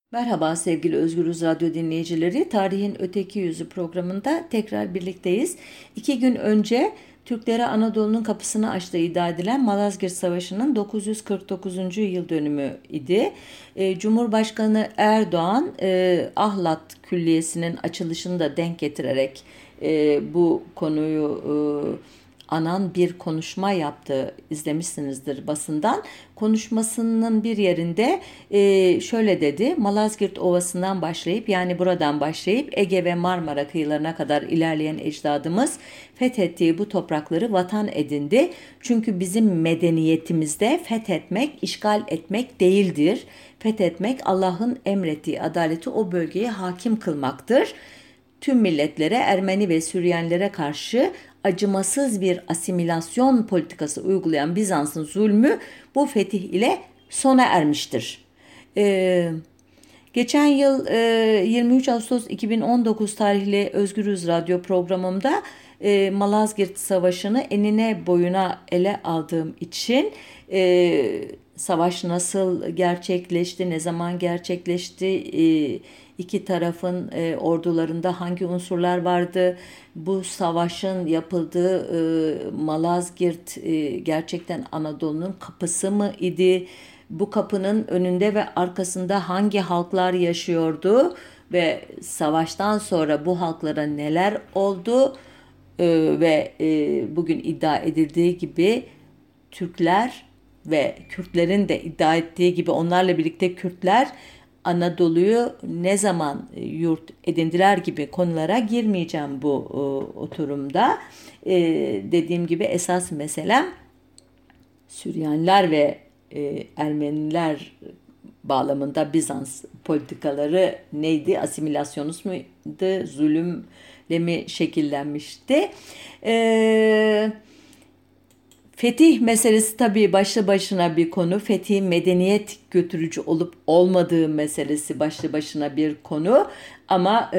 Merhaba sevgili Özgürüz Radyo dinleyicileri. Tarihin Öteki Yüzü programında tekrar birlikteyiz. 2 gün önce Türklere Anadolu'nun kapısını açtığı iddia edilen Malazgirt Savaşı'nın 949. yıl dönümü idi. Cumhurbaşkanı Erdoğan Ahlat Külliyesi'nin açılışını da denk getirerek bu konuyu anan bir konuşma yaptı, izlemişsinizdir basından. Konuşmasının bir yerinde şöyle dedi: Malazgirt Ovası'ndan başlayıp, yani buradan başlayıp Ege ve Marmara kıyılarına kadar ilerleyen ecdadımız fethettiği bu toprakları vatan edindi. Çünkü bizim medeniyetimizde fethetmek, işgal etmek değildir. Fethetmek, Allah'ın emrettiği adaleti o bölgeye hakim kılmaktır. Tüm milletlere, Ermeni ve Süryanilere karşı acımasız bir asimilasyon politikası uygulayan Bizans'ın zulmü bu fetih ile sona ermiştir. Geçen yıl 23 Ağustos 2019 tarihli Özgürüz Radyo programımda Malazgirt Savaşı'nı enine boyuna ele aldığım için savaş nasıl gerçekleşti, ne zaman gerçekleşti, iki tarafın ordularında hangi unsurlar vardı, bu savaşın yapıldığı Malazgirt gerçekten Anadolu'nun kapısı mı idi? Bu kapının önünde ve arkasında hangi halklar yaşıyordu ve savaştan sonra bu halklara neler oldu? Ve bugün iddia edildiği gibi Türkler ve Kürtlerin de iddia ettiği gibi onlarla birlikte Kürtler Anadolu'yu ne zaman yurt edindiler gibi konulara girmeyeceğim bu oturumda. Dediğim gibi esas meselem Süryaniler ve Ermeniler bağlamında Bizans politikaları neydi? Asimilasyonist muydu? Zulümle mi şekillenmişti? Fetih meselesi tabii başlı başına bir konu. Fetih medeniyet götürücü olup olmadığı meselesi başlı başına bir konu. Ama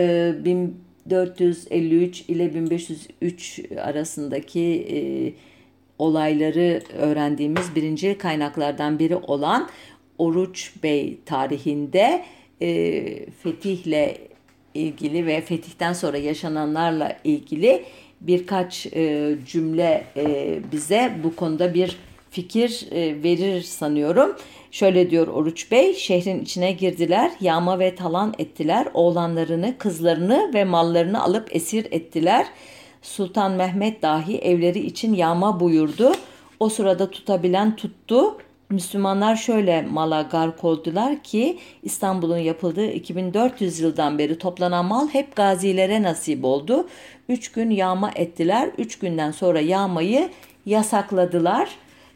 1453 ile 1503 arasındaki olayları öğrendiğimiz birinci kaynaklardan biri olan Oruç Bey tarihinde fetihle ilgili ve fetihten sonra yaşananlarla ilgili birkaç cümle bize bu konuda bir fikir verir sanıyorum. Şöyle diyor Oruç Bey: şehrin içine girdiler, yağma ve talan ettiler, oğlanlarını, kızlarını ve mallarını alıp esir ettiler. Sultan Mehmet dahi evleri için yağma buyurdu. O sırada tutabilen tuttu. Müslümanlar şöyle mala gark oldular ki İstanbul'un yapıldığı 2400 yıldan beri toplanan mal hep gazilere nasip oldu. 3 gün yağma ettiler. 3 günden sonra yağmayı yasakladılar.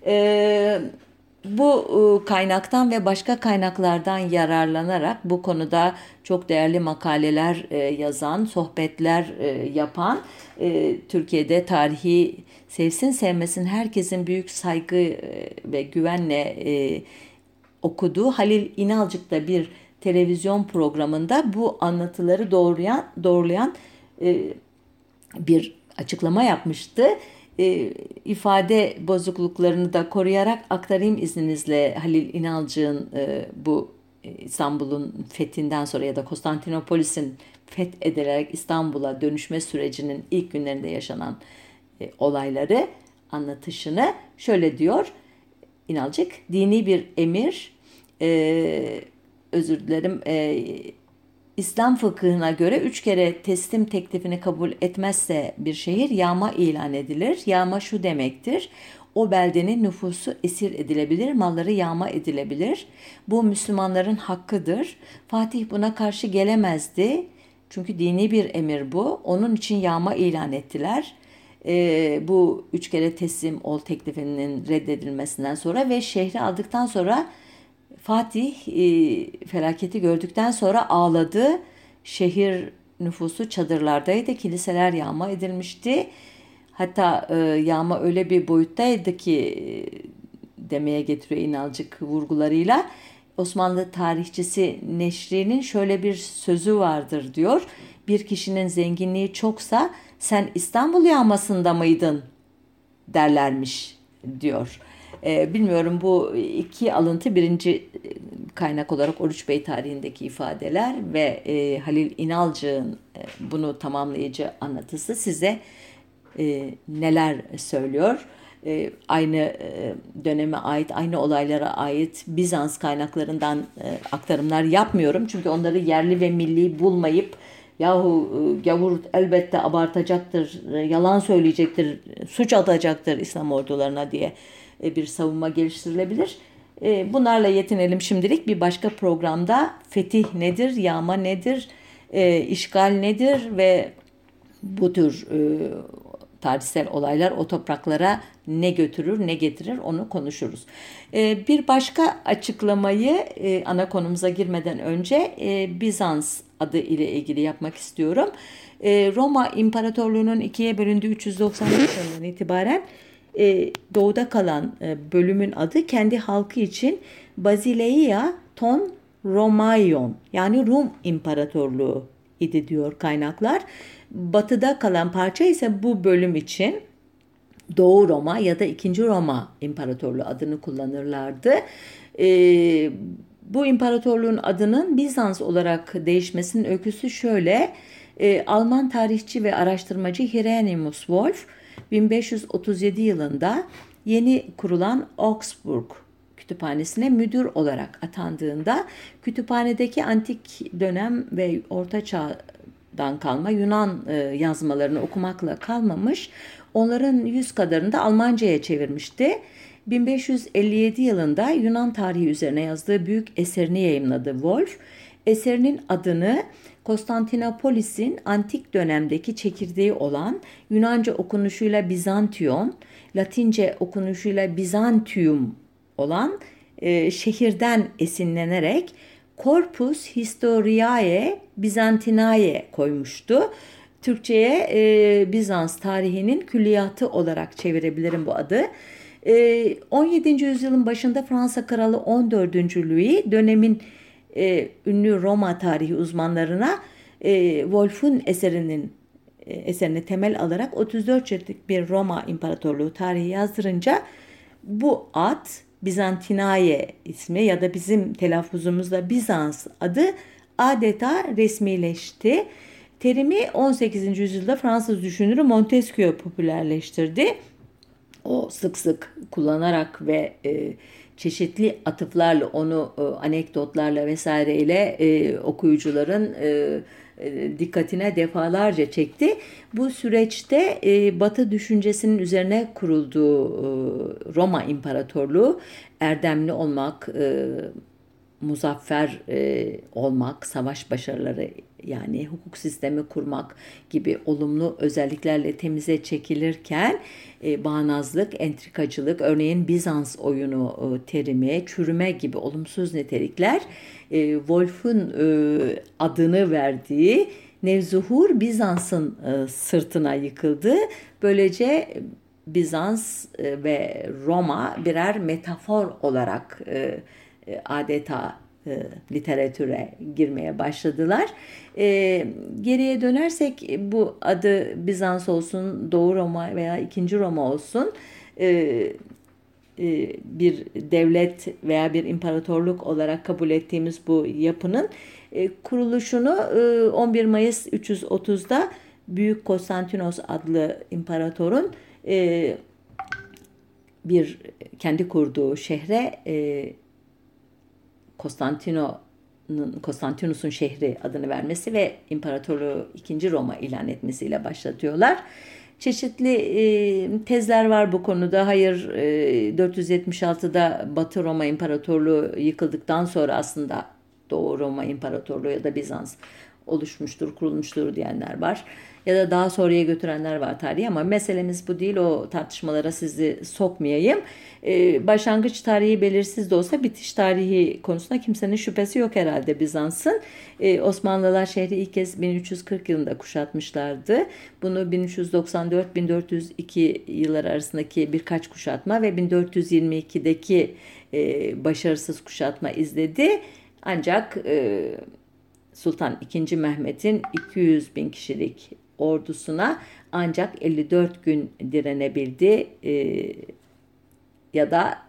Bu kaynaktan ve başka kaynaklardan yararlanarak bu konuda çok değerli makaleler yazan, sohbetler yapan, Türkiye'de tarihi sevsin sevmesin herkesin büyük saygı ve güvenle okuduğu Halil İnalcık'ta bir televizyon programında bu anlatıları doğrulayan bir açıklama yapmıştı. İfade bozukluklarını da koruyarak aktarayım izninizle Halil İnalcık'ın bu İstanbul'un fethinden sonra ya da Konstantinopolis'in fethedilerek İstanbul'a dönüşme sürecinin ilk günlerinde yaşanan olayları anlatışını şöyle diyor İnalcık: dini bir emir, özür dilerim, İslam fıkhına göre 3 kere teslim teklifini kabul etmezse bir şehir yağma ilan edilir. Yağma şu demektir: o beldenin nüfusu esir edilebilir, malları yağma edilebilir. Bu Müslümanların hakkıdır. Fatih buna karşı gelemezdi. Çünkü dini bir emir bu. Onun için yağma ilan ettiler. Bu 3 kere teslim ol teklifinin reddedilmesinden sonra ve şehri aldıktan sonra Fatih felaketi gördükten sonra ağladı. Şehir nüfusu çadırlardaydı. Kiliseler yağma edilmişti. Hatta yağma öyle bir boyuttaydı ki demeye getiriyor İnalcık vurgularıyla. Osmanlı tarihçisi Neşri'nin şöyle bir sözü vardır diyor: bir kişinin zenginliği çoksa sen İstanbul yağmasında mıydın derlermiş diyor. Bilmiyorum, bu iki alıntı birinci kaynak olarak Oruç Bey tarihindeki ifadeler ve Halil İnalcık'ın bunu tamamlayıcı anlatısı size neler söylüyor? Aynı döneme ait, aynı olaylara ait Bizans kaynaklarından aktarımlar yapmıyorum. Çünkü onları yerli ve milli bulmayıp yahu gavur elbette abartacaktır, yalan söyleyecektir, suç atacaktır İslam ordularına diye bir savunma geliştirilebilir. Bunlarla yetinelim şimdilik. Bir başka programda fetih nedir, yağma nedir, işgal nedir ve bu tür tarihsel olaylar o topraklara ne götürür, ne getirir onu konuşuruz. Bir başka açıklamayı ana konumuza girmeden önce Bizans adı ile ilgili yapmak istiyorum. Roma İmparatorluğu'nun ikiye bölündüğü 395 yılından itibaren doğuda kalan bölümün adı kendi halkı için Basileia ton Romaion yani Rum İmparatorluğu idi diyor kaynaklar. Batıda kalan parça ise bu bölüm için Doğu Roma ya da II. Roma İmparatorluğu adını kullanırlardı. Bu imparatorluğun adının Bizans olarak değişmesinin öyküsü şöyle. Alman tarihçi ve araştırmacı Hieronymus Wolff 1537 yılında yeni kurulan Augsburg kütüphanesine müdür olarak atandığında kütüphanedeki antik dönem ve orta çağdan kalma Yunan yazmalarını okumakla kalmamış, onların 100 kadarını da Almanca'ya çevirmişti. 1557 yılında Yunan tarihi üzerine yazdığı büyük eserini yayımladı Wolff. Eserinin adını Konstantinopolis'in antik dönemdeki çekirdeği olan Yunanca okunuşuyla Bizantion, Latince okunuşuyla Byzantium olan şehirden esinlenerek Corpus Historiae Byzantinae koymuştu. Türkçe'ye Bizans tarihinin külliyatı olarak çevirebilirim bu adı. 17. yüzyılın başında Fransa Kralı 14. Louis dönemin ünlü Roma tarihi uzmanlarına Wolff'un eserini temel alarak 34 ciltlik bir Roma İmparatorluğu tarihi yazdırınca bu ad Byzantinae ismi ya da bizim telaffuzumuzda Bizans adı adeta resmileşti. Terimi 18. yüzyılda Fransız düşünürü Montesquieu popülerleştirdi. O sık sık kullanarak ve çeşitli atıflarla onu anekdotlarla vesaireyle okuyucuların dikkatine defalarca çekti. Bu süreçte Batı düşüncesinin üzerine kurulduğu Roma İmparatorluğu erdemli olmak, muzaffer olmak, savaş başarıları yani hukuk sistemi kurmak gibi olumlu özelliklerle temize çekilirken bağnazlık, entrikacılık, örneğin Bizans oyunu terimi, çürüme gibi olumsuz nitelikler Wolff'un adını verdiği Nevzuhur Bizans'ın sırtına yıkıldı. Böylece Bizans ve Roma birer metafor olarak adeta literatüre girmeye başladılar. Geriye dönersek bu adı Bizans olsun, Doğu Roma veya II. Roma olsun bir devlet veya bir imparatorluk olarak kabul ettiğimiz bu yapının kuruluşunu 11 Mayıs 330'da Büyük Konstantinos adlı imparatorun bir kendi kurduğu şehre Konstantinus'un şehri adını vermesi ve imparatorluğu II. Roma ilan etmesiyle başlatıyorlar. Çeşitli tezler var bu konuda. Hayır, 476'da Batı Roma İmparatorluğu yıkıldıktan sonra aslında Doğu Roma İmparatorluğu ya da Bizans oluşmuştur, kurulmuştur diyenler var. Ya da daha sonraya götürenler var tarihi ama meselemiz bu değil. O tartışmalara sizi sokmayayım. Başlangıç tarihi belirsiz de olsa bitiş tarihi konusunda kimsenin şüphesi yok herhalde Bizans'ın. Osmanlılar şehri ilk kez 1340 yılında kuşatmışlardı. Bunu 1394-1402 yıllar arasındaki birkaç kuşatma ve 1422'deki başarısız kuşatma izledi. Ancak Sultan II. Mehmet'in 200 bin kişilik ordusuna ancak 54 gün direnebildi ya da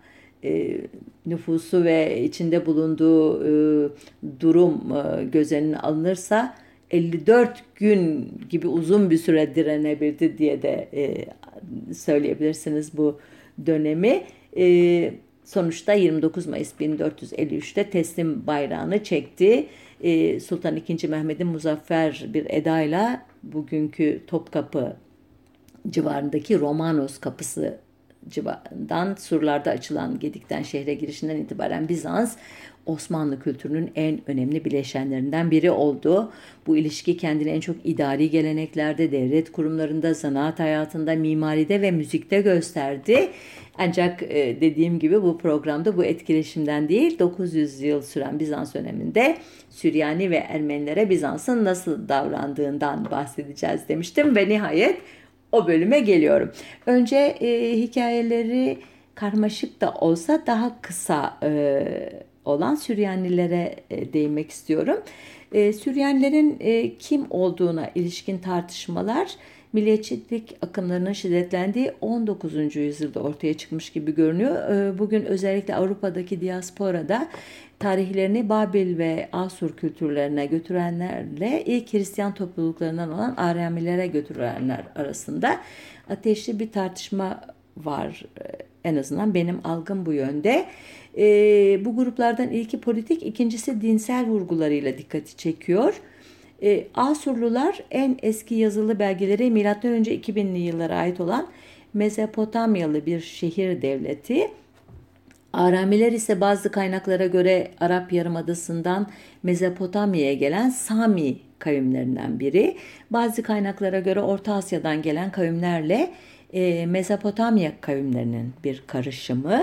nüfusu ve içinde bulunduğu durum göz önüne alınırsa 54 gün gibi uzun bir süre direnebildi diye de söyleyebilirsiniz bu dönemi. Sonuçta 29 Mayıs 1453'te teslim bayrağını çekti. Sultan II. Mehmet'in muzaffer bir edayla bugünkü Topkapı civarındaki Romanos Kapısı civarından surlarda açılan Gedik'ten şehre girişinden itibaren Bizans Osmanlı kültürünün en önemli bileşenlerinden biri oldu. Bu ilişki kendini en çok idari geleneklerde, devlet kurumlarında, zanaat hayatında, mimaride ve müzikte gösterdi. Ancak dediğim gibi bu programda bu etkileşimden değil, 900 yıl süren Bizans döneminde Süryani ve Ermenilere Bizans'ın nasıl davrandığından bahsedeceğiz demiştim ve nihayet o bölüme geliyorum. Önce hikayeleri karmaşık da olsa daha kısa olan Süryanilere değinmek istiyorum. Süryanilerin kim olduğuna ilişkin tartışmalar milliyetçilik akımlarının şiddetlendiği 19. yüzyılda ortaya çıkmış gibi görünüyor. Bugün özellikle Avrupa'daki diasporada tarihlerini Babil ve Asur kültürlerine götürenlerle ilk Hristiyan topluluklarından olan Aramilere götürenler arasında ateşli bir tartışma var. En azından benim algım bu yönde. Bu gruplardan ilki politik, ikincisi dinsel vurgularıyla dikkati çekiyor. Asurlular en eski yazılı belgeleri M.Ö. 2000'li yıllara ait olan Mezopotamyalı bir şehir devleti. Aramiler ise bazı kaynaklara göre Arap Yarımadası'ndan Mezopotamya'ya gelen Sami kavimlerinden biri. Bazı kaynaklara göre Orta Asya'dan gelen kavimlerle Mezopotamya kavimlerinin bir karışımı.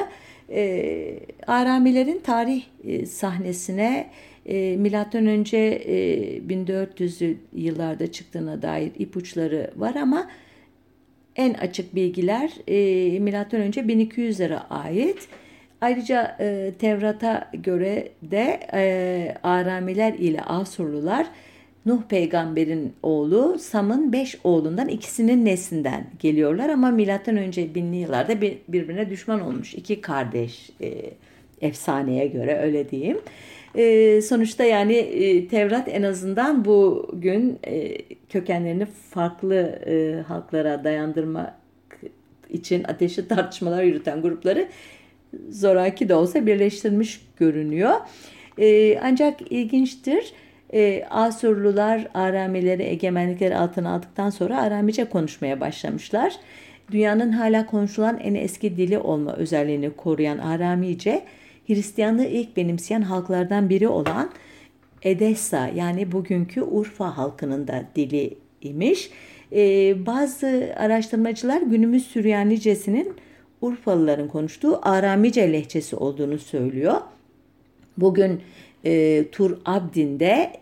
Aramilerin tarih sahnesine milattan önce 1400'lü yıllarda çıktığına dair ipuçları var ama en açık bilgiler milattan önce 1200'lere ait. Ayrıca Tevrat'a göre de Aramiler ile Asurlular Nuh peygamberin oğlu Sam'ın 5 oğlundan ikisinin neslinden geliyorlar ama milattan önce 1000'li yıllarda birbirine düşman olmuş iki kardeş efsaneye göre öyle diyeyim. Sonuçta yani Tevrat en azından bugün kökenlerini farklı halklara dayandırmak için ateşli tartışmalar yürüten grupları zoraki de olsa birleştirmiş görünüyor. Ancak ilginçtir. Asurlular Aramileri egemenlikleri altına aldıktan sonra Aramice konuşmaya başlamışlar. Dünyanın hala konuşulan en eski dili olma özelliğini koruyan Aramice, Hristiyanlığı ilk benimseyen halklardan biri olan Edessa yani bugünkü Urfa halkının da dili imiş. Bazı araştırmacılar günümüz Süryanicesinin Urfalıların konuştuğu Aramice lehçesi olduğunu söylüyor. Bugün Tur Abdin'de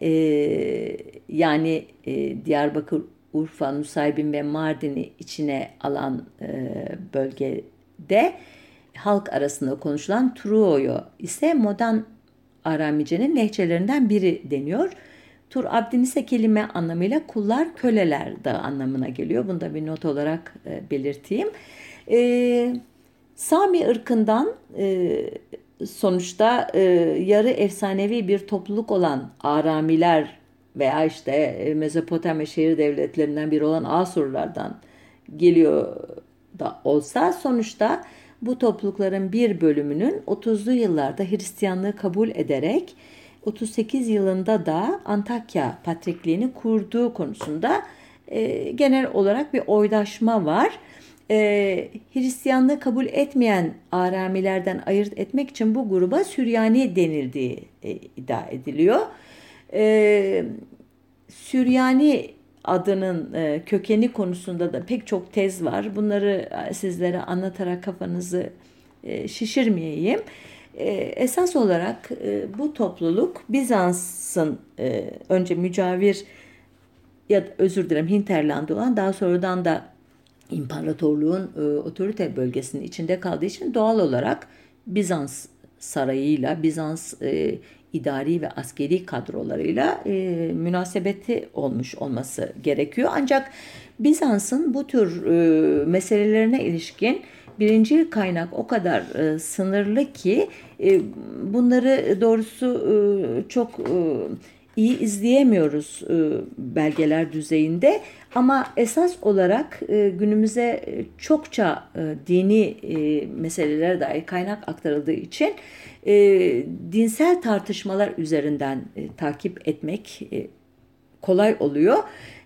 yani Diyarbakır, Urfa, Nusaybin ve Mardin'i içine alan bölgede halk arasında konuşulan Truoyo ise modern Aramice'nin lehçelerinden biri deniyor. Tur Abdin ise kelime anlamıyla kullar, köleler de anlamına geliyor. Bunu da bir not olarak belirteyim. Sami ırkından sonuçta yarı efsanevi bir topluluk olan Aramiler veya işte Mezopotamya şehir devletlerinden biri olan Asurlardan geliyor da olsa sonuçta bu toplulukların bir bölümünün 30'lu yıllarda Hristiyanlığı kabul ederek 38 yılında da Antakya Patrikliğini kurduğu konusunda genel olarak bir oydaşma var. Hristiyanlığı kabul etmeyen Aramilerden ayırt etmek için bu gruba Süryani denildiği iddia ediliyor. Süryani adının kökeni konusunda da pek çok tez var. Bunları sizlere anlatarak kafanızı şişirmeyeyim. Esas olarak bu topluluk Bizans'ın önce mücavir ya da özür dilerim hinterlandı olan daha sonradan da İmparatorluğun otorite bölgesinin içinde kaldığı için doğal olarak Bizans sarayıyla, Bizans idari ve askeri kadrolarıyla münasebeti olmuş olması gerekiyor. Ancak Bizans'ın bu tür meselelerine ilişkin birincil kaynak o kadar sınırlı ki bunları doğrusu çok iyi izleyemiyoruz belgeler düzeyinde. Ama esas olarak günümüze çokça dini meselelere dair kaynak aktarıldığı için dinsel tartışmalar üzerinden takip etmek kolay oluyor.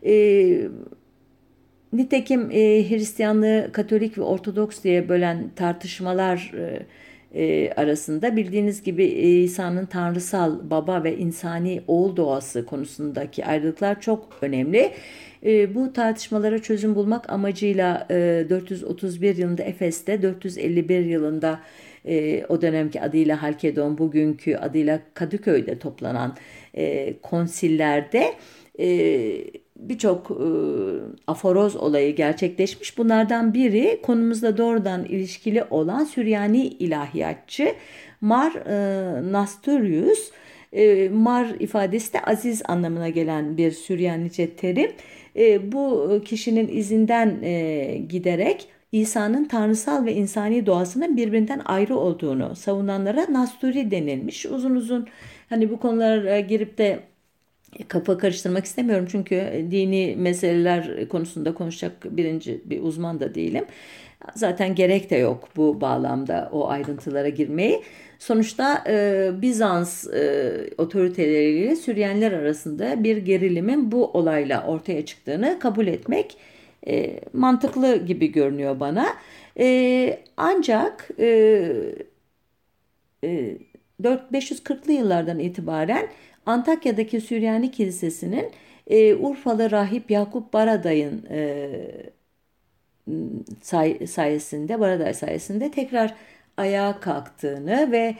Nitekim Hristiyanlığı Katolik ve Ortodoks diye bölen tartışmalar arasında bildiğiniz gibi İsa'nın tanrısal baba ve insani oğul doğası konusundaki ayrılıklar çok önemli. Bu tartışmalara çözüm bulmak amacıyla 431 yılında Efes'te, 451 yılında o dönemki adıyla Halkedon, bugünkü adıyla Kadıköy'de toplanan konsillerde birçok aforoz olayı gerçekleşmiş. Bunlardan biri konumuzla doğrudan ilişkili olan Süryani ilahiyatçı Mar Nastorius. Mar ifadesi de aziz anlamına gelen bir Süryanice terim. Bu kişinin izinden giderek İsa'nın tanrısal ve insani doğasının birbirinden ayrı olduğunu savunanlara Nasturi denilmiş. Uzun uzun hani bu konulara girip de kafa karıştırmak istemiyorum çünkü dini meseleler konusunda konuşacak bir uzman da değilim. Zaten gerek de yok bu bağlamda o ayrıntılara girmeyi. Sonuçta Bizans otoriteleriyle Süryaniler arasında bir gerilimin bu olayla ortaya çıktığını kabul etmek mantıklı gibi görünüyor bana. Ancak 540'lı yıllardan itibaren Antakya'daki Süryani Kilisesi'nin Urfalı rahip Yakup Baraday'ın Baraday sayesinde tekrar ayağa kalktığını ve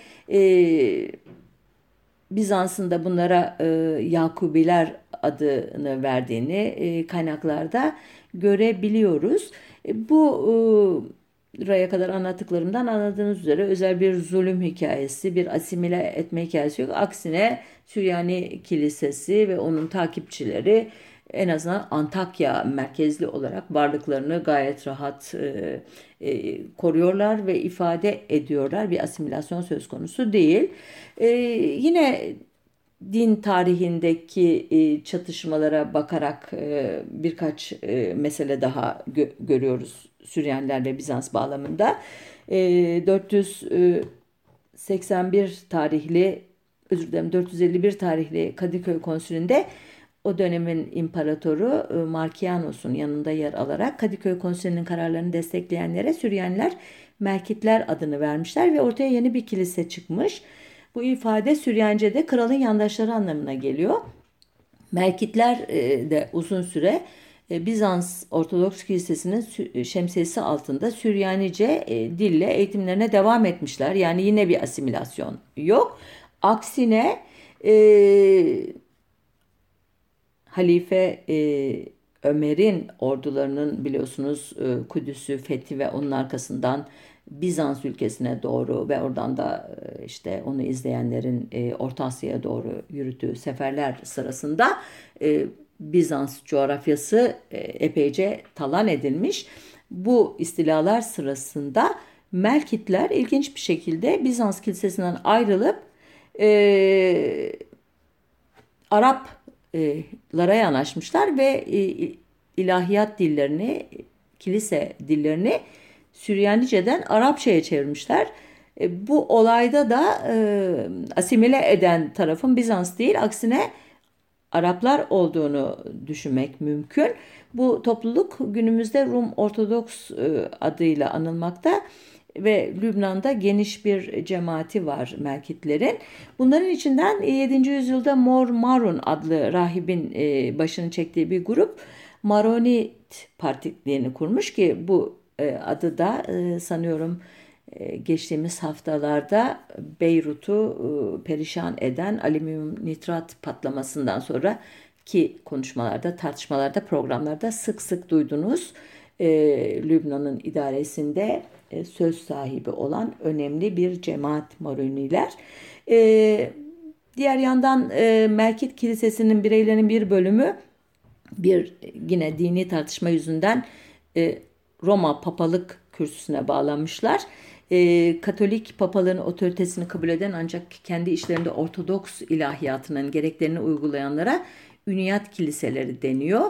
Bizans'ın da bunlara Yakubiler adını verdiğini kaynaklarda görebiliyoruz. Bu buraya kadar anlattıklarımdan anladığınız üzere özel bir zulüm hikayesi, bir asimile etme hikayesi yok. Aksine Süryani Kilisesi ve onun takipçileri en azından Antakya merkezli olarak varlıklarını gayet rahat koruyorlar ve ifade ediyorlar. Bir asimilasyon söz konusu değil. Yine din tarihindeki çatışmalara bakarak birkaç mesele daha görüyoruz Süryaniler ve Bizans bağlamında. 451 tarihli Kadıköy Konsülü'nde o dönemin imparatoru Markianos'un yanında yer alarak Kadıköy Konsülü'nün kararlarını destekleyenlere Süryaniler Merkitler adını vermişler ve ortaya yeni bir kilise çıkmış. Bu ifade Süryance'de kralın yandaşları anlamına geliyor. Merkitler de uzun süre Bizans Ortodoks Kilisesi'nin şemsiyesi altında Süryanice dille eğitimlerine devam etmişler. Yani yine bir asimilasyon yok. Aksine Halife Ömer'in ordularının biliyorsunuz Kudüs'ü fethi ve onun arkasından Bizans ülkesine doğru ve oradan da işte onu izleyenlerin Orta Asya'ya doğru yürüttüğü seferler sırasında Bizans coğrafyası epeyce talan edilmiş. Bu istilalar sırasında Melkitler ilginç bir şekilde Bizans kilisesinden ayrılıp Araplara yanaşmışlar ve ilahiyat dillerini, kilise dillerini Süryanice'den Arapça'ya çevirmişler. Bu olayda da asimile eden tarafın Bizans değil, aksine Araplar olduğunu düşünmek mümkün. Bu topluluk günümüzde Rum Ortodoks adıyla anılmakta ve Lübnan'da geniş bir cemaati var Melkitlerin. Bunların içinden 7. yüzyılda Mor Marun adlı rahibin başını çektiği bir grup Maronit Partiliğini kurmuş ki bu adı da sanıyorum geçtiğimiz haftalarda Beyrut'u perişan eden alüminyum nitrat patlamasından sonra ki konuşmalarda, tartışmalarda, programlarda sık sık duydunuz. Lübnan'ın idaresinde söz sahibi olan önemli bir cemaat Maroniler. Diğer yandan Melkit Kilisesi'nin bireylerinin bir bölümü yine dini tartışma yüzünden Roma papalık kürsüsüne bağlanmışlar. Katolik papalığın otoritesini kabul eden ancak kendi işlerinde Ortodoks ilahiyatının gereklerini uygulayanlara üniyat kiliseleri deniyor.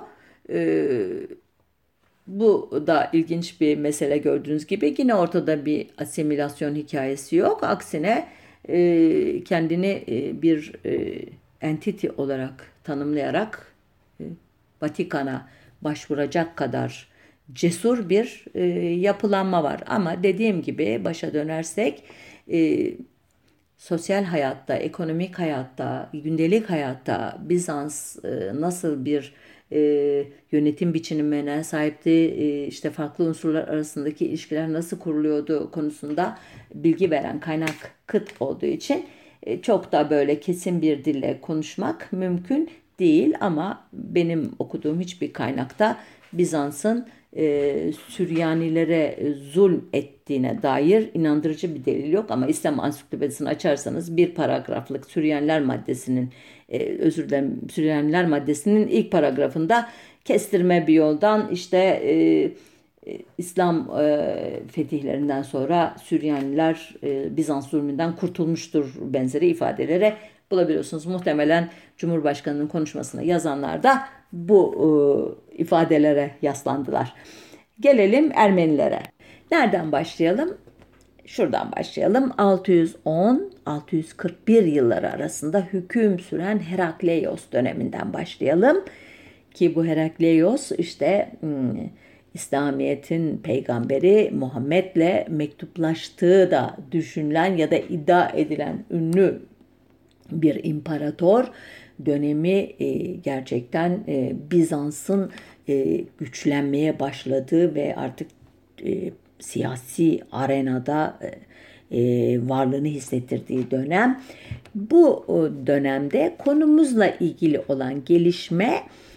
Bu da ilginç bir mesele gördüğünüz gibi. Yine ortada bir asimilasyon hikayesi yok. Aksine kendini bir entity olarak tanımlayarak Vatikan'a başvuracak kadar cesur bir yapılanma var. Ama dediğim gibi başa dönersek sosyal hayatta, ekonomik hayatta, gündelik hayatta Bizans nasıl bir yönetim biçimine sahipti, işte farklı unsurlar arasındaki ilişkiler nasıl kuruluyordu konusunda bilgi veren kaynak kıt olduğu için çok da böyle kesin bir dille konuşmak mümkün değil. Ama benim okuduğum hiçbir kaynakta Bizans'ın Süryanilere zulm ettiğine dair inandırıcı bir delil yok. Ama İslam Ansiklopedisini açarsanız bir paragraflık Süryaniler maddesinin ilk paragrafında kestirme bir yoldan işte İslam fetihlerinden sonra Süryaniler Bizans zulmünden kurtulmuştur benzeri ifadelere bulabiliyorsunuz. Muhtemelen Cumhurbaşkanı'nın konuşmasını yazanlar da bu ifadelere yaslandılar. Gelelim Ermenilere. Nereden başlayalım? Şuradan başlayalım. 610-641 yılları arasında hüküm süren Herakleios döneminden başlayalım. Ki bu Herakleios işte İslamiyet'in peygamberi Muhammed'le mektuplaştığı da düşünülen ya da iddia edilen ünlü bir imparator. Dönemi gerçekten Bizans'ın güçlenmeye başladığı ve artık siyasi arenada varlığını hissettirdiği dönem. Bu dönemde konumuzla ilgili olan gelişme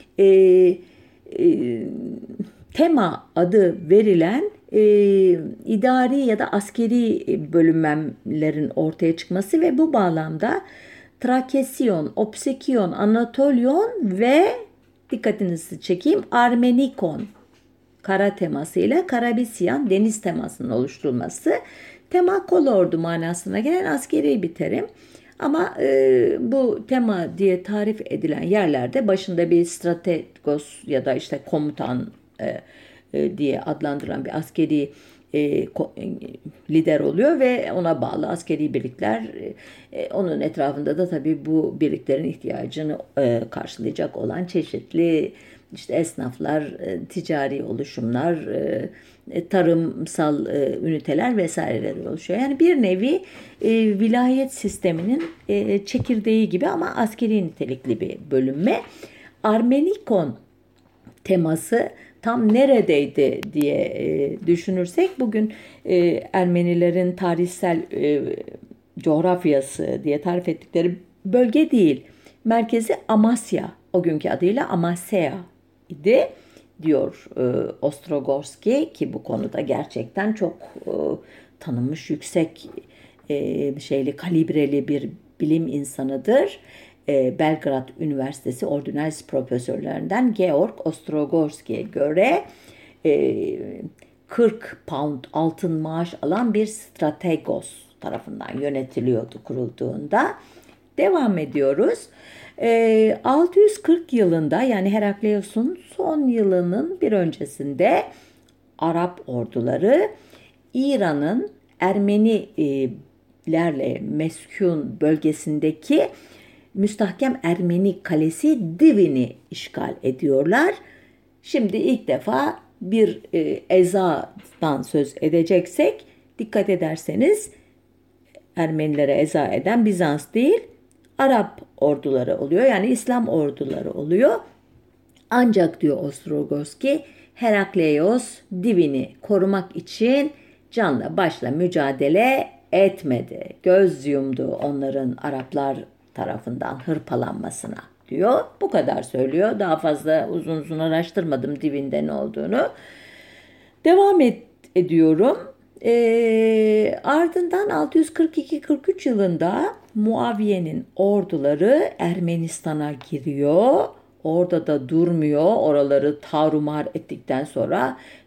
tema adı verilen idari ya da askeri bölünmelerin ortaya çıkması ve bu bağlamda Trakesyon, Opsekyon, Anatolyon ve dikkatinizi çekeyim Armenikon kara temasıyla Karabisyan deniz temasının oluşturulması. Tema kolordu manasına gelen askeri bir terim. Ama bu tema diye tarif edilen yerlerde başında bir strategos ya da işte komutan diye adlandırılan bir askeri lider oluyor ve ona bağlı askeri birlikler, onun etrafında da tabii bu birliklerin ihtiyacını karşılayacak olan çeşitli işte esnaflar, ticari oluşumlar, tarımsal üniteler vesaireler oluşuyor. Yani bir nevi vilayet sisteminin çekirdeği gibi ama askeri nitelikli bir bölünme. Armenikon teması tam neredeydi diye düşünürsek bugün Ermenilerin tarihsel coğrafyası diye tarif ettikleri bölge değil. Merkezi Amasya, o günkü adıyla Amasya idi diyor Ostrogorski ki bu konuda gerçekten çok tanınmış yüksek kalibreli bir bilim insanıdır. Belgrad Üniversitesi Ordinalis profesörlerinden Georg Ostrogorski'ye göre 40 pound altın maaş alan bir strategos tarafından yönetiliyordu kurulduğunda. Devam ediyoruz. 640 yılında yani Herakleios'un son yılının bir öncesinde Arap orduları İran'ın Ermenilerle meskun bölgesindeki müstahkem Ermeni kalesi Divin'i işgal ediyorlar. Şimdi ilk defa bir ezadan söz edeceksek dikkat ederseniz Ermenilere eza eden Bizans değil Arap orduları oluyor. Yani İslam orduları oluyor. Ancak diyor Ostrogorski Herakleios Divin'i korumak için canla başla mücadele etmedi. Göz yumdu onların Araplar tarafından hırpalanmasına diyor. Bu kadar söylüyor. Daha fazla uzun uzun araştırmadım Divin'de ne olduğunu. Devam ediyorum. Ardından 642-43 yılında Muaviye'nin orduları Ermenistan'a giriyor. Orada da durmuyor. Oraları tarumar ettikten sonra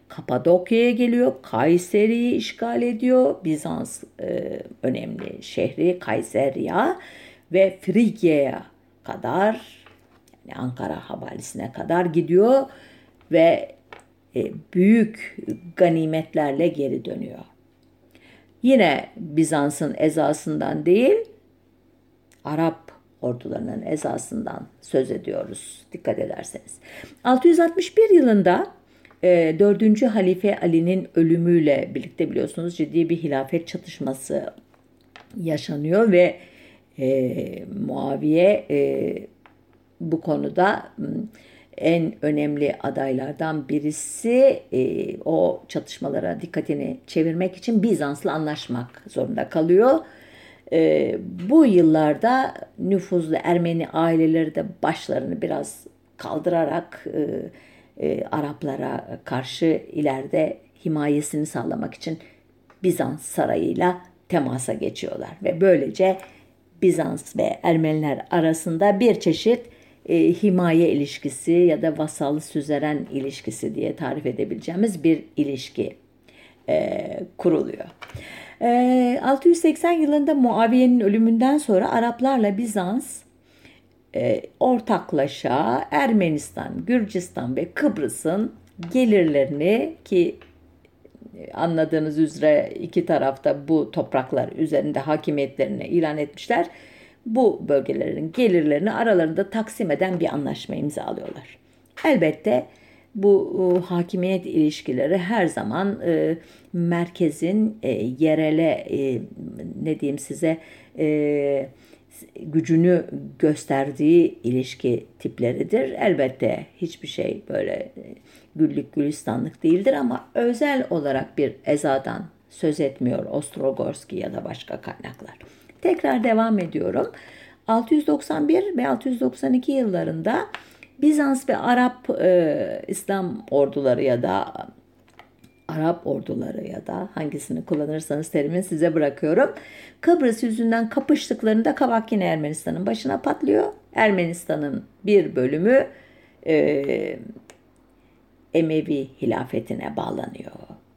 Kapadokya'ya geliyor, Kayseri'yi işgal ediyor. Bizans önemli şehri Kayseriya ve Frigya'ya kadar, yani Ankara havalesine kadar gidiyor ve büyük ganimetlerle geri dönüyor. Yine Bizans'ın ezasından değil, Arap ordularının ezasından söz ediyoruz dikkat ederseniz. 661 yılında 4. Halife Ali'nin ölümüyle birlikte biliyorsunuz ciddi bir hilafet çatışması yaşanıyor ve Muaviye bu konuda en önemli adaylardan birisi. O çatışmalara dikkatini çevirmek için Bizans'la anlaşmak zorunda kalıyor. Bu yıllarda nüfuzlu Ermeni aileleri de başlarını biraz kaldırarak Araplara karşı ileride himayesini sağlamak için Bizans sarayıyla temasa geçiyorlar ve böylece Bizans ve Ermeniler arasında bir çeşit himaye ilişkisi ya da vasal süzeren ilişkisi diye tarif edebileceğimiz bir ilişki kuruluyor. 680 yılında Muaviye'nin ölümünden sonra Araplarla Bizans ortaklaşa Ermenistan, Gürcistan ve Kıbrıs'ın gelirlerini, ki anladığınız üzere iki tarafta bu topraklar üzerinde hakimiyetlerini ilan etmişler. Bu bölgelerin gelirlerini aralarında taksim eden bir anlaşma imzalıyorlar. Elbette bu hakimiyet ilişkileri her zaman merkezin yerele ne diyeyim size gücünü gösterdiği ilişki tipleridir. Elbette hiçbir şey böyle güllük gülistanlık değildir ama özel olarak bir ezadan söz etmiyor Ostrogorski ya da başka kaynaklar. Tekrar devam ediyorum. 691 ve 692 yıllarında Bizans ve Arap İslam orduları ya da Arap orduları ya da hangisini kullanırsanız terimin size bırakıyorum. Kıbrıs yüzünden kapıştıklarında kabak yine Ermenistan'ın başına patlıyor. Ermenistan'ın bir bölümü Emevi hilafetine bağlanıyor.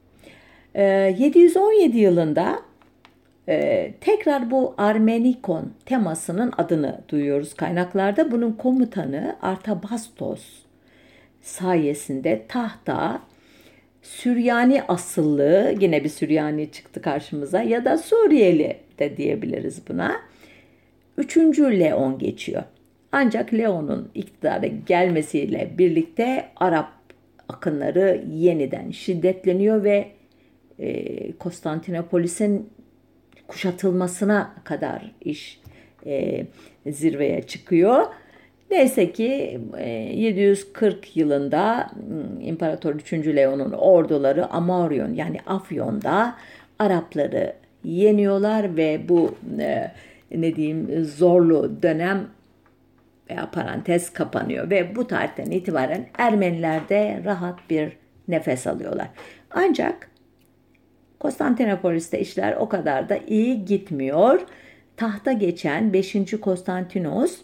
717 yılında tekrar bu Armenikon temasının adını duyuyoruz kaynaklarda. Bunun komutanı Artabastos sayesinde tahta Süryani asıllı, yine bir Süryani çıktı karşımıza ya da Suriyeli de diyebiliriz buna. 3. Leon geçiyor. Ancak Leon'un iktidara gelmesiyle birlikte Arap akınları yeniden şiddetleniyor ve Konstantinopolis'in kuşatılmasına kadar iş zirveye çıkıyor. Neyse ki 740 yılında İmparator 3. Leon'un orduları Amorion yani Afyon'da Arapları yeniyorlar ve bu ne diyeyim zorlu dönem veya parantez kapanıyor ve bu tarihten itibaren Ermeniler de rahat bir nefes alıyorlar. Ancak Konstantinopolis'te işler o kadar da iyi gitmiyor. Tahta geçen 5. Konstantinos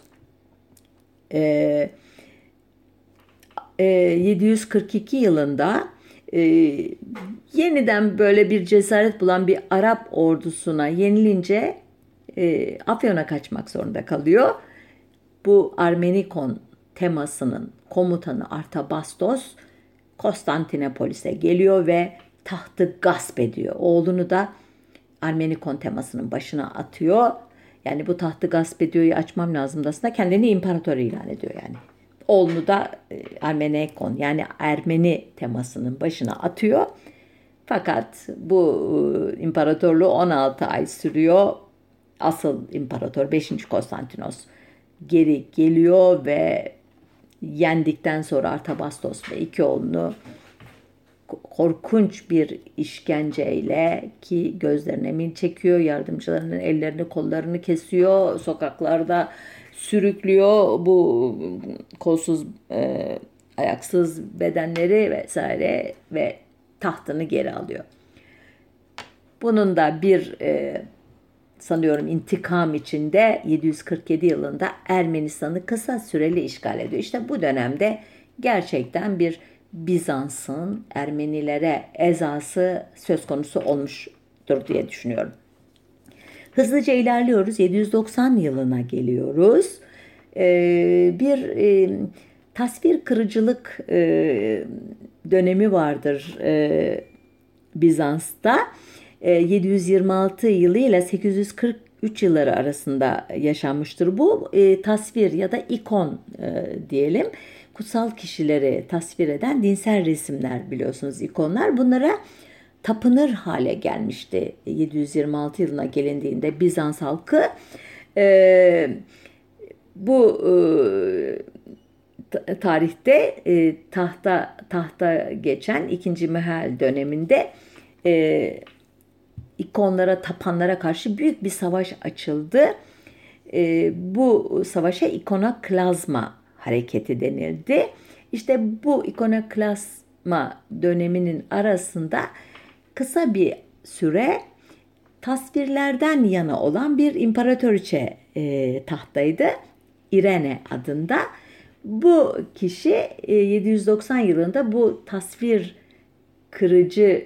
742 yılında yeniden böyle bir cesaret bulan bir Arap ordusuna yenilince Afyon'a kaçmak zorunda kalıyor. Bu Armenikon temasının komutanı Artabastos Konstantinopolis'e geliyor ve tahtı gasp ediyor. Oğlunu da Armenikon temasının başına atıyor. Yani bu tahtı gasp ediyor'yu açmam lazım aslında. Kendini imparator ilan ediyor yani. Oğlunu da Armenikon yani Ermeni temasının başına atıyor. Fakat bu imparatorluğu 16 ay sürüyor. Asıl imparator 5. Konstantinos geri geliyor ve yendikten sonra Artabastos ve iki oğlunu korkunç bir işkenceyle, ki gözlerine mil çekiyor, yardımcılarının ellerini kollarını kesiyor, sokaklarda sürüklüyor bu kolsuz ayaksız bedenleri vesaire ve tahtını geri alıyor. Bunun da bir sanıyorum intikam içinde 747 yılında Ermenistan'ı kısa süreli işgal ediyor. İşte bu dönemde gerçekten bir Bizans'ın Ermenilere ezası söz konusu olmuştur diye düşünüyorum. Hızlıca ilerliyoruz. 790 yılına geliyoruz. Bir tasvir kırıcılık dönemi vardır Bizans'ta. 726 yılı ile 843 yılları arasında yaşanmıştır. Bu tasvir ya da ikon diyelim. Kutsal kişileri tasvir eden dinsel resimler, biliyorsunuz, ikonlar. Bunlara tapınır hale gelmişti 726 yılına gelindiğinde Bizans halkı. Bu tarihte tahta geçen 2. Mehel döneminde ikonlara tapanlara karşı büyük bir savaş açıldı. Bu savaşa ikonoklazma hareketi denildi. İşte bu ikonoklazma döneminin arasında kısa bir süre tasvirlerden yana olan bir imparatoriçe tahtaydı. İrene adında. Bu kişi 790 yılında bu tasvir kırıcı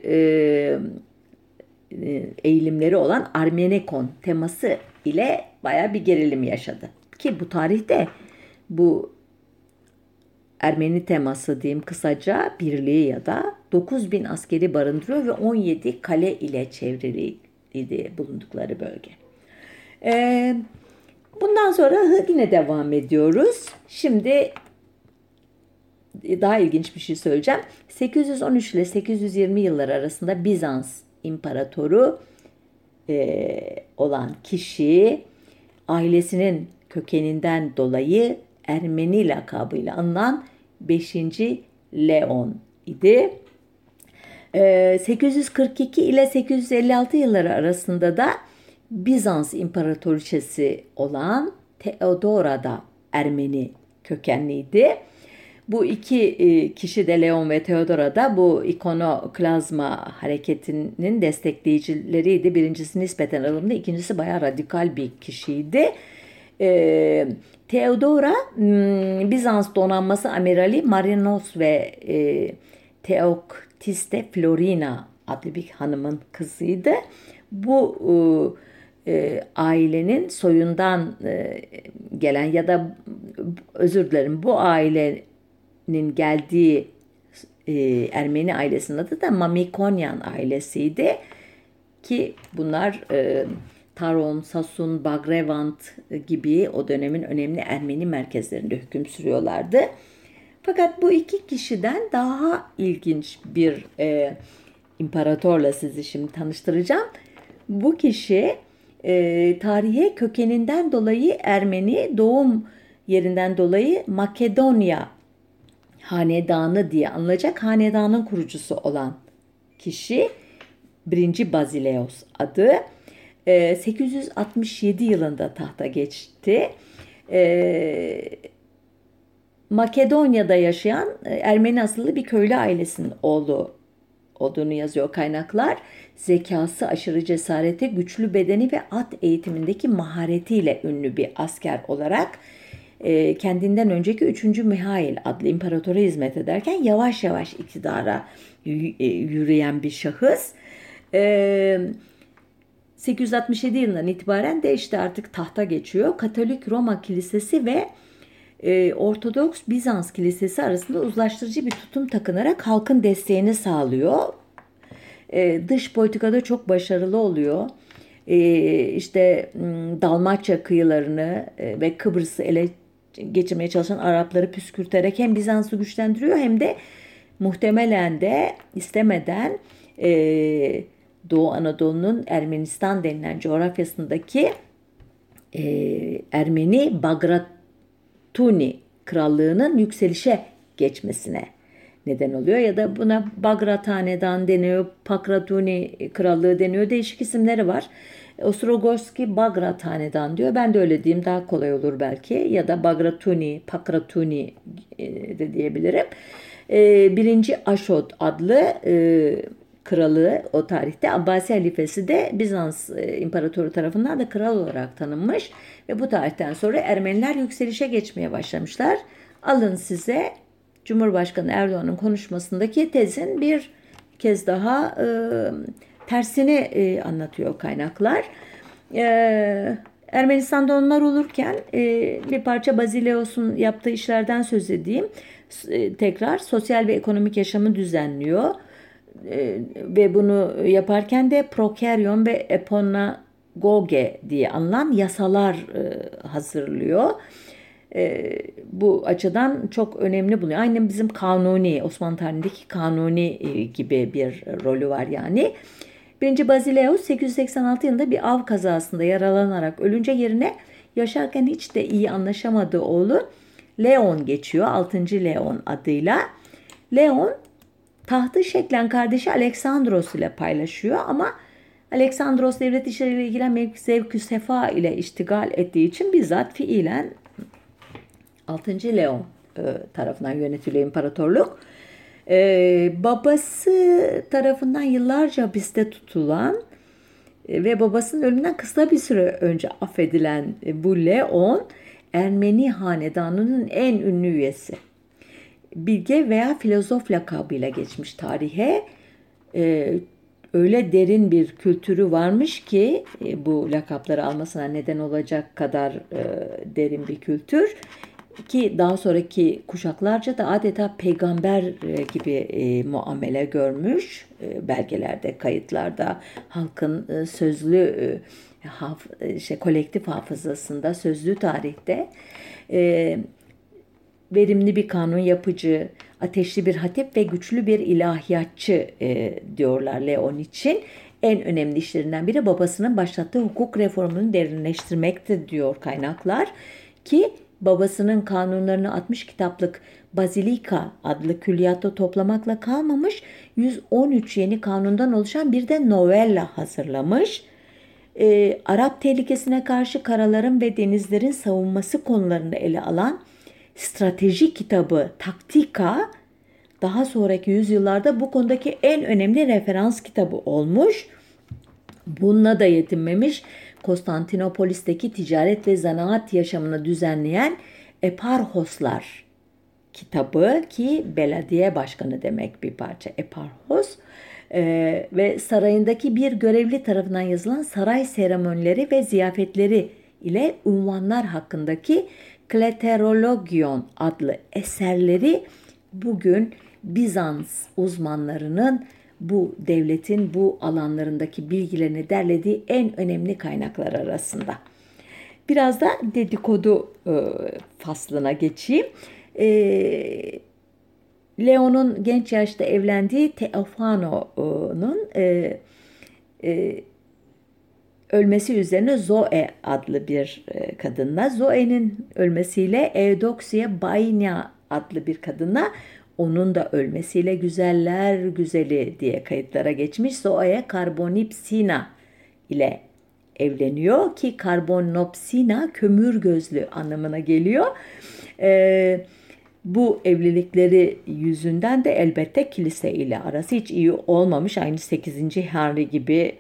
eğilimleri olan Armenekon teması ile bayağı bir gerilim yaşadı. Ki bu tarihte bu Ermeni teması diyeyim kısaca birliği ya da 9.000 askeri barındırıyor ve 17 kale ile çevriliydi bulundukları bölge. Bundan sonra yine devam ediyoruz. Şimdi daha ilginç bir şey söyleyeceğim. 813 ile 820 yılları arasında Bizans imparatoru olan kişi ailesinin kökeninden dolayı Ermeni lakabıyla anılan 5. Leon idi. 842 ile 856 yılları arasında da Bizans imparatoriçesi olan Theodora da Ermeni kökenliydi. Bu iki kişi de, Leon ve Theodora da, bu ikonoklazma hareketinin destekleyicileriydi. Birincisi nispeten ılımlı, ikincisi bayağı radikal bir kişiydi. Theodora, Bizans donanması amirali Marinos ve Theoktiste Florina adlı bir hanımın kızıydı. Bu ailenin soyundan gelen ya da bu ailenin geldiği Ermeni ailesinin adı da Mamikonyan ailesiydi ki bunlar Taron, Sasun, Bagrevant gibi o dönemin önemli Ermeni merkezlerinde hüküm sürüyorlardı. Fakat bu iki kişiden daha ilginç bir imparatorla sizi şimdi tanıştıracağım. Bu kişi tarihe kökeninden dolayı Ermeni, doğum yerinden dolayı Makedonya hanedanı diye anılacak hanedanın kurucusu olan kişi 1. Bazileos adı. 867 yılında tahta geçti. Makedonya'da yaşayan Ermeni asıllı bir köylü ailesinin oğlu olduğunu yazıyor kaynaklar. Zekası, aşırı cesareti, güçlü bedeni ve at eğitimindeki maharetiyle ünlü bir asker olarak kendinden önceki 3. Mihail adlı imparatora hizmet ederken yavaş yavaş iktidara yürüyen bir şahıs. 867 yılından itibaren de işte artık tahta geçiyor. Katolik Roma Kilisesi ve Ortodoks Bizans Kilisesi arasında uzlaştırıcı bir tutum takınarak halkın desteğini sağlıyor. Dış politikada çok başarılı oluyor. İşte Dalmaçya kıyılarını ve Kıbrıs'ı ele geçirmeye çalışan Arapları püskürterek hem Bizans'ı güçlendiriyor hem de muhtemelen de istemeden Doğu Anadolu'nun Ermenistan denilen coğrafyasındaki Ermeni Bagratuni krallığının yükselişe geçmesine neden oluyor. Ya da buna Bagrat Hanedan deniyor, Pakratuni krallığı deniyor. Değişik isimleri var. Ostrogorski Bagrat Hanedan diyor. Ben de öyle diyeyim, daha kolay olur belki. Ya da Bagratuni, Pakratuni de diyebilirim. 1. Aşot adlı kralı o tarihte, Abbasi halifesi de Bizans imparatoru tarafından da kral olarak tanınmış ve bu tarihten sonra Ermeniler yükselişe geçmeye başlamışlar. Alın size Cumhurbaşkanı Erdoğan'ın konuşmasındaki tezin bir kez daha tersini anlatıyor kaynaklar. Ermenistan'da onlar olurken bir parça Bazileos'un yaptığı işlerden söz edeyim. Tekrar sosyal ve ekonomik yaşamı düzenliyor. Ve bunu yaparken de prokeryon ve eponagoge diye anılan yasalar hazırlıyor. Bu açıdan çok önemli buluyor. Aynı bizim Kanuni, Osmanlı tarihindeki Kanuni gibi bir rolü var yani. 1. Bazileus 886 yılında bir av kazasında yaralanarak ölünce yerine yaşarken hiç de iyi anlaşamadığı oğlu Leon geçiyor. 6. Leon adıyla. Leon tahtı şeklen kardeşi Aleksandros ile paylaşıyor ama Aleksandros devlet işleriyle ilgilenmeyip zevk-ü sefa ile iştigal ettiği için bizzat fiilen 6. Leon tarafından yönetiliyor imparatorluk. Babası tarafından yıllarca hapiste tutulan ve babasının ölümünden kısa bir süre önce affedilen bu Leon, Ermeni hanedanının en ünlü üyesi. Bilge veya filozof lakabıyla geçmiş tarihe. Öyle derin bir kültürü varmış ki bu lakapları almasına neden olacak kadar derin bir kültür. Ki daha sonraki kuşaklarca da adeta peygamber gibi muamele görmüş. Belgelerde, kayıtlarda, halkın sözlü kolektif hafızasında, sözlü tarihte verimli bir kanun yapıcı, ateşli bir hatip ve güçlü bir ilahiyatçı diyorlar Leon için. En önemli işlerinden biri babasının başlattığı hukuk reformunu derinleştirmektir diyor kaynaklar. Ki babasının kanunlarını 60 kitaplık Bazilika adlı külliyatta toplamakla kalmamış, 113 yeni kanundan oluşan bir de novella hazırlamış. Arap tehlikesine karşı karaların ve denizlerin savunması konularını ele alan strateji kitabı Taktika, daha sonraki yüzyıllarda bu konudaki en önemli referans kitabı olmuş. Bununla da yetinmemiş, Konstantinopolis'teki ticaret ve zanaat yaşamını düzenleyen Eparhoslar kitabı, ki belediye başkanı demek bir parça Eparhos, ve sarayındaki bir görevli tarafından yazılan saray seremonileri ve ziyafetleri ile unvanlar hakkındaki Kleterologion adlı eserleri bugün Bizans uzmanlarının bu devletin bu alanlarındaki bilgilerini derlediği en önemli kaynaklar arasında. Biraz da dedikodu faslına geçeyim. Leon'un genç yaşta evlendiği Teofano'nun ölmesi üzerine Zoe adlı bir kadınla, Zoe'nin ölmesiyle Eudoxia Baina adlı bir kadınla, onun da ölmesiyle güzeller güzeli diye kayıtlara geçmiş Zoe Karbonipsina ile evleniyor ki Karbonopsina kömür gözlü anlamına geliyor. Bu evlilikleri yüzünden de elbette kilise ile arası hiç iyi olmamış. Aynı 8. Henry gibi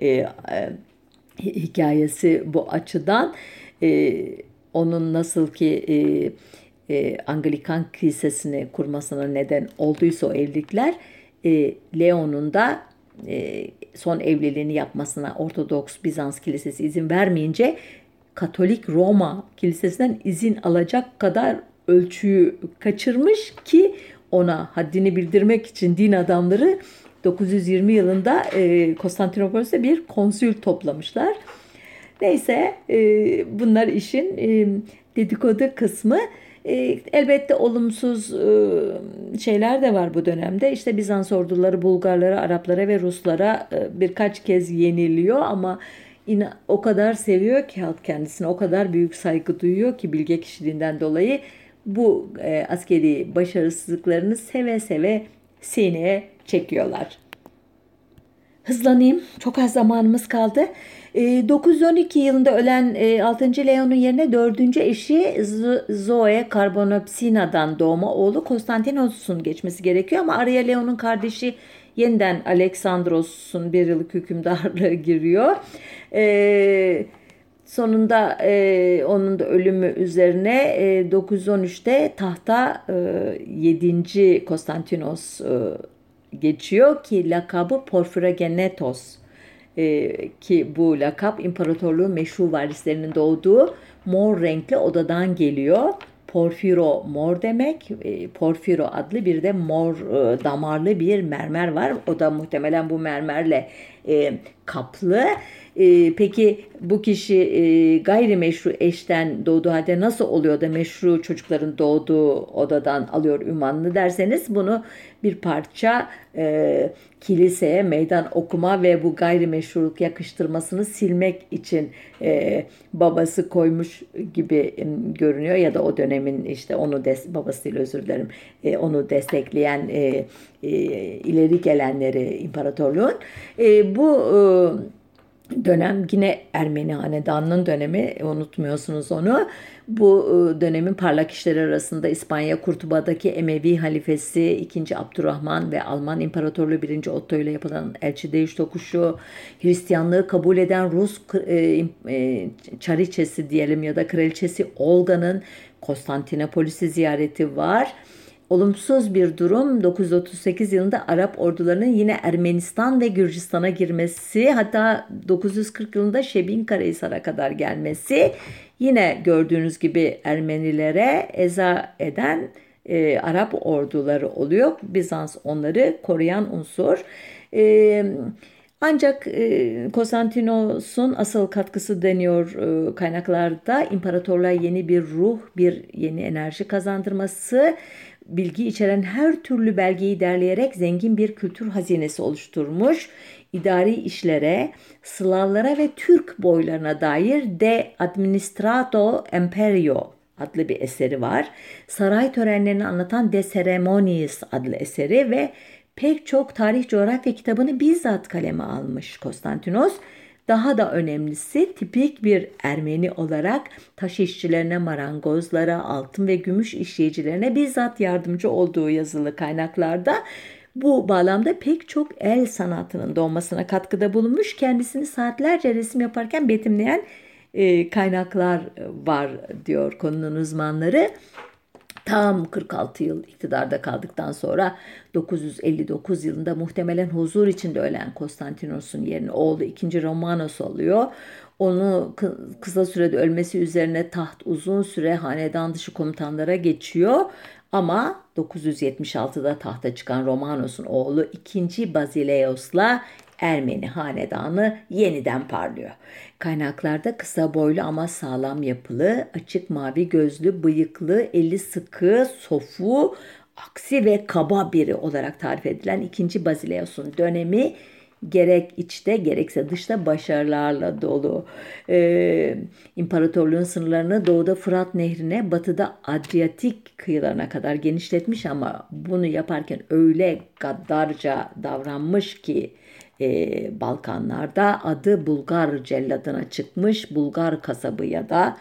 hikayesi bu açıdan. Onun nasıl ki Anglikan kilisesini kurmasına neden olduysa o evlilikler, Leon'un da son evliliğini yapmasına Ortodoks Bizans kilisesi izin vermeyince Katolik Roma kilisesinden izin alacak kadar ölçüyü kaçırmış ki ona haddini bildirmek için din adamları 920 yılında Konstantinopolis'te bir konsül toplamışlar. Neyse, bunlar işin dedikodu kısmı. Elbette olumsuz şeyler de var bu dönemde. İşte Bizans orduları Bulgarlara, Araplara ve Ruslara birkaç kez yeniliyor ama o kadar seviyor ki halk kendisine, o kadar büyük saygı duyuyor ki bilge kişiliğinden dolayı bu askeri başarısızlıklarını seve seve sineye çekiyorlar. Hızlanayım. Çok az zamanımız kaldı. 912 yılında ölen 6. Leon'un yerine 4. eşi Zoe Karbonopsina'dan doğma oğlu Konstantinos'un geçmesi gerekiyor ama araya Leon'un kardeşi yeniden Aleksandros'un bir yıllık hükümdarlığı giriyor. Sonunda onun da ölümü üzerine 913'te tahta 7. Konstantinos geçiyor ki lakabı Porfirogenetos, ki bu lakap imparatorluğun meşru varislerinin doğduğu mor renkli odadan geliyor. Porfiro mor demek. Porfiro adlı bir de mor damarlı bir mermer var. O da muhtemelen bu mermerle kaplı. Peki bu kişi gayrimeşru eşten doğduğu halde nasıl oluyor da meşru çocukların doğduğu odadan alıyor ünvanını derseniz, bunu bir parça kiliseye meydan okuma ve bu gayrimeşruluk yakıştırmasını silmek için babası koymuş gibi görünüyor, ya da o dönemin işte onu babasıyla, özür dilerim, onu destekleyen ileri gelenleri imparatorluğun. Bu dönem yine Ermeni Hanedanı'nın dönemi, unutmuyorsunuz onu. Bu dönemin parlak işleri arasında İspanya Kurtuba'daki Emevi halifesi II. Abdurrahman ve Alman İmparatorluğu 1. Otto ile yapılan elçi değiş tokuşu, Hristiyanlığı kabul eden Rus çariçesi diyelim ya da kraliçesi Olga'nın Konstantinopolis'i ziyareti var. Olumsuz bir durum 938 yılında Arap ordularının yine Ermenistan ve Gürcistan'a girmesi, hatta 940 yılında Şebinkarahisar'a kadar gelmesi, yine gördüğünüz gibi Ermenilere eza eden Arap orduları oluyor. Bizans onları koruyan unsur. Ancak Konstantinos'un asıl katkısı deniyor kaynaklarda imparatorluğa yeni bir ruh, bir yeni enerji kazandırması, bilgi içeren her türlü belgeyi derleyerek zengin bir kültür hazinesi oluşturmuş. İdari işlere, Slavlara ve Türk boylarına dair De Administrato Imperio adlı bir eseri var. Saray törenlerini anlatan De Ceremoniis adlı eseri ve pek çok tarih coğrafya kitabını bizzat kaleme almış Konstantinos. Daha da önemlisi, tipik bir Ermeni olarak taş işçilerine, marangozlara, altın ve gümüş işleyicilerine bizzat yardımcı olduğu yazılı kaynaklarda. Bu bağlamda pek çok el sanatının doğmasına katkıda bulunmuş, kendisini saatlerce resim yaparken betimleyen kaynaklar var diyor konunun uzmanları. Tam 46 yıl iktidarda kaldıktan sonra 959 yılında muhtemelen huzur içinde ölen Konstantinos'un yerine oğlu 2. Romanos alıyor. Onu kısa sürede ölmesi üzerine taht uzun süre hanedan dışı komutanlara geçiyor. Ama 976'da tahta çıkan Romanos'un oğlu 2. Basileos'la Ermeni hanedanı yeniden parlıyor. Kaynaklarda kısa boylu ama sağlam yapılı, açık mavi gözlü, bıyıklı, eli sıkı, sofu, aksi ve kaba biri olarak tarif edilen 2. Basileos'un dönemi gerek içte gerekse dışta başarılarla dolu. İmparatorluğun sınırlarını doğuda Fırat Nehri'ne, batıda Adriyatik kıyılarına kadar genişletmiş, ama bunu yaparken öyle gaddarca davranmış ki Balkanlarda adı Bulgar celladına çıkmış, Bulgar kasabı ya da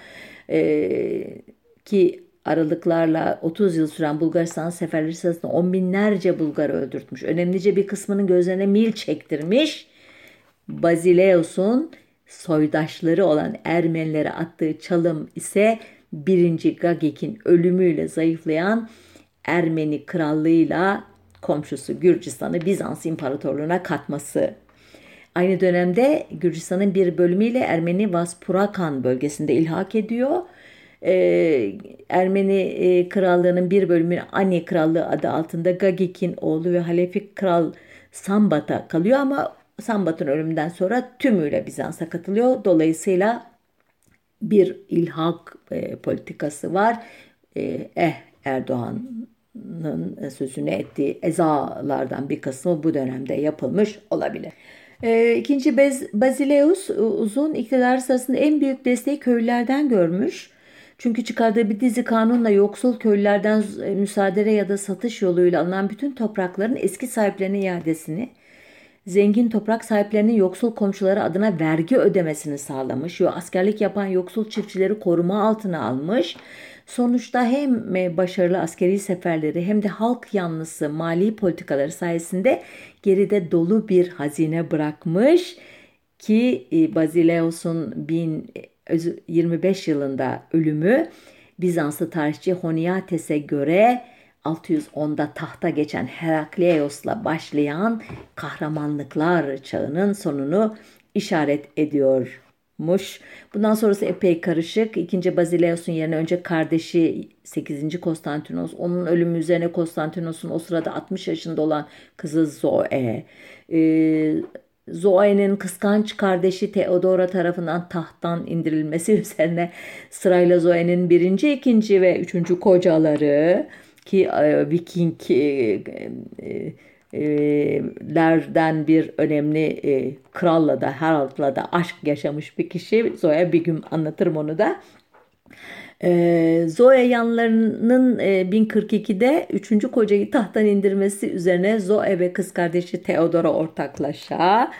ki aralıklarla 30 yıl süren Bulgaristan seferleri sırasında on binlerce Bulgar öldürtmüş. Önemlice bir kısmının gözlerine mil çektirmiş. Basileus'un soydaşları olan Ermenilere attığı çalım ise 1. Gagik'in ölümüyle zayıflayan Ermeni krallığıyla komşusu Gürcistan'ı Bizans İmparatorluğu'na katması. Aynı dönemde Gürcistan'ın bir bölümüyle Ermeni Vaspurakan bölgesinde ilhak ediyor. Ermeni krallığının bir bölümü Ani Krallığı adı altında Gagik'in oğlu ve Halefi Kral Sambat'a kalıyor, ama Sambat'ın ölümünden sonra tümüyle Bizans'a katılıyor. Dolayısıyla bir ilhak politikası var. Erdoğan'ın sözünü ettiği ezalardan bir kısmı bu dönemde yapılmış olabilir. İkinci Basileus uzun iktidar sırasında en büyük desteği köylülerden görmüş. Çünkü çıkardığı bir dizi kanunla yoksul köylülerden müsaade ya da satış yoluyla alınan bütün toprakların eski sahiplerine iadesini, zengin toprak sahiplerinin yoksul komşuları adına vergi ödemesini sağlamış. Askerlik yapan yoksul çiftçileri koruma altına almış. Sonuçta hem başarılı askeri seferleri hem de halk yanlısı mali politikaları sayesinde geride dolu bir hazine bırakmış ki Basileus'un 25 yılında ölümü. Bizanslı tarihçi Honiates'e göre 610'da tahta geçen Herakleios'la başlayan kahramanlıklar çağının sonunu işaret ediyormuş. Bundan sonrası epey karışık. İkinci Bazileus'un yerine önce kardeşi 8. Konstantinos, onun ölümü üzerine Konstantinos'un o sırada 60 yaşında olan kızı Zoe, Zoe'nin kıskanç kardeşi Theodora tarafından tahttan indirilmesi üzerine sırayla Zoe'nin birinci, ikinci ve üçüncü kocaları ki Vikinglerden bir önemli kralla da Harald'la da aşk yaşamış bir kişi. Zoe, bir gün anlatırım onu da. Zoe yanlarının 1042'de 3. kocayı tahttan indirmesi üzerine Zoe ve kız kardeşi Theodora ortaklaşa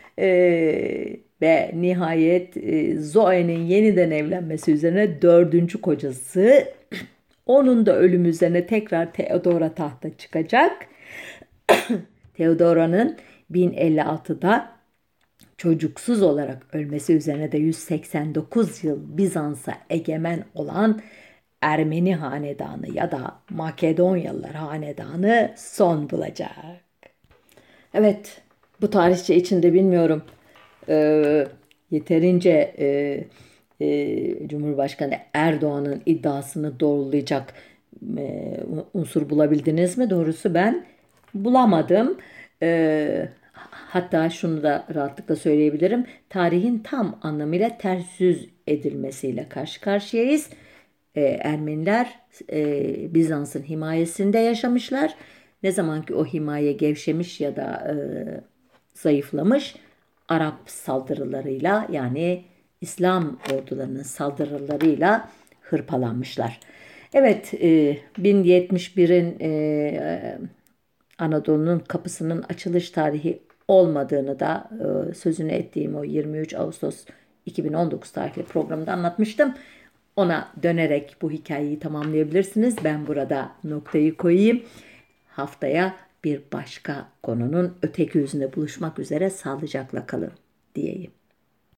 ve nihayet Zoe'nin yeniden evlenmesi üzerine 4. kocası, onun da ölümü üzerine tekrar Theodora tahta çıkacak. Theodora'nın 1056'da çocuksuz olarak ölmesi üzerine de 189 yıl Bizans'a egemen olan Ermeni hanedanı ya da Makedonyalılar hanedanı son bulacak. Evet, bu tarihçe içinde bilmiyorum yeterince Cumhurbaşkanı Erdoğan'ın iddiasını doğrulayacak unsur bulabildiniz mi? Doğrusu ben bulamadım. Hatta şunu da rahatlıkla söyleyebilirim. Tarihin tam anlamıyla ters yüz edilmesiyle karşı karşıyayız. Ermeniler Bizans'ın himayesinde yaşamışlar. Ne zaman ki o himaye gevşemiş ya da zayıflamış, Arap saldırılarıyla, yani İslam ordularının saldırılarıyla hırpalanmışlar. Evet, 1071'in Anadolu'nun kapısının açılış tarihi olmadığını da sözünü ettiğim o 23 Ağustos 2019 tarihli programda anlatmıştım. Ona dönerek bu hikayeyi tamamlayabilirsiniz. Ben burada noktayı koyayım. Haftaya bir başka konunun öteki yüzünde buluşmak üzere, sağlıcakla kalın diyeyim.